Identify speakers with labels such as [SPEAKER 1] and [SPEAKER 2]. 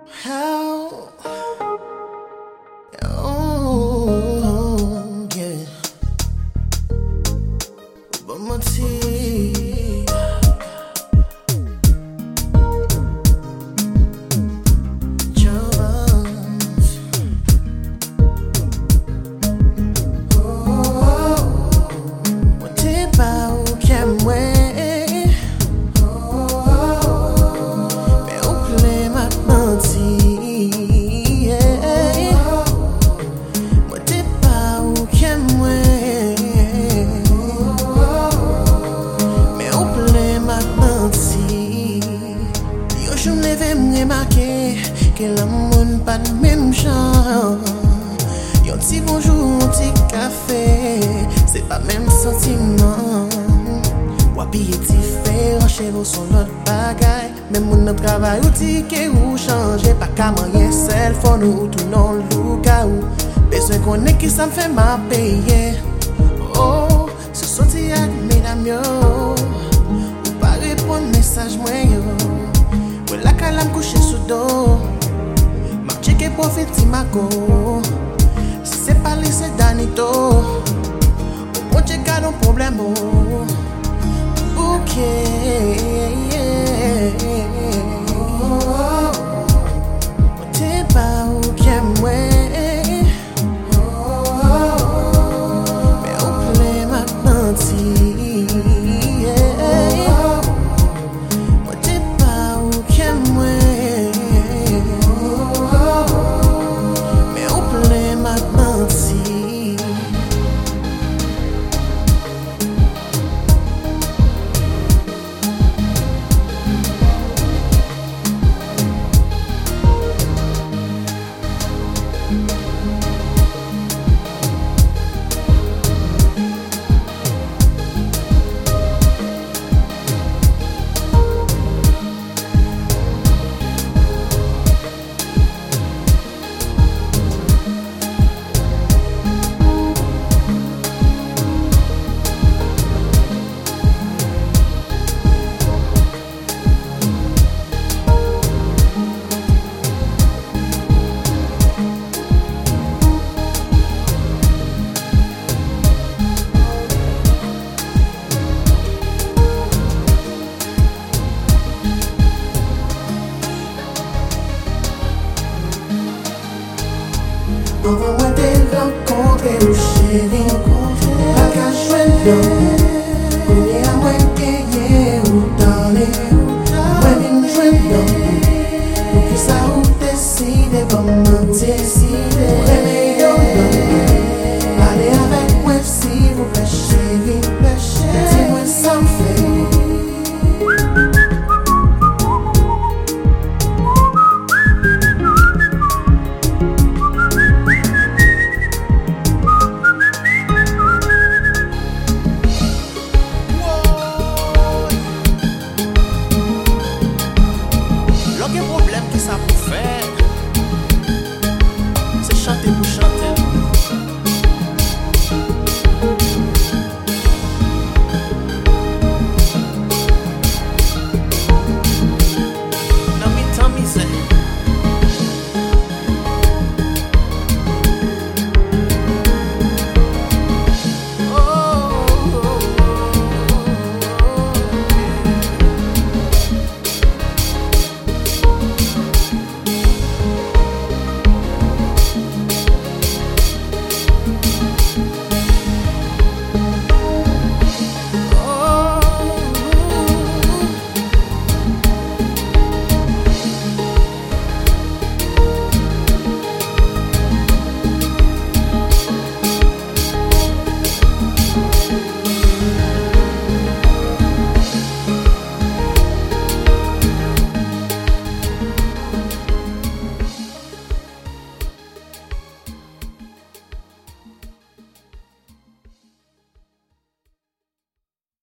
[SPEAKER 1] How? Oh, yeah. But my tea. Jones. Oh, what did I can wait? Je m'leve m'remarquer que l'amour pas de même genre. Yon ti bonjour, un petit café, c'est pas même sentiment. Wapi est différent chez nous son l'autre bagaille. Même mon travail ou ti que ou changer pas qu'à moyen seul faut nous tout non louka ou. Besoin qu'on est qui ça me fait ma payer. Oh, ce sorti avec mesdames yo. Ou pas répondre message moi yo. La calam couché sous dos. M'a checké profil ti ma go. Si c'est pas lui c'est Danito. Bon check a un problème. Ok. T'es pas où qu'aime moi. Mais on plaît maintenant ti. Envoie-moi des rencontres et où j'ai rencontré. Pas qu'à jouer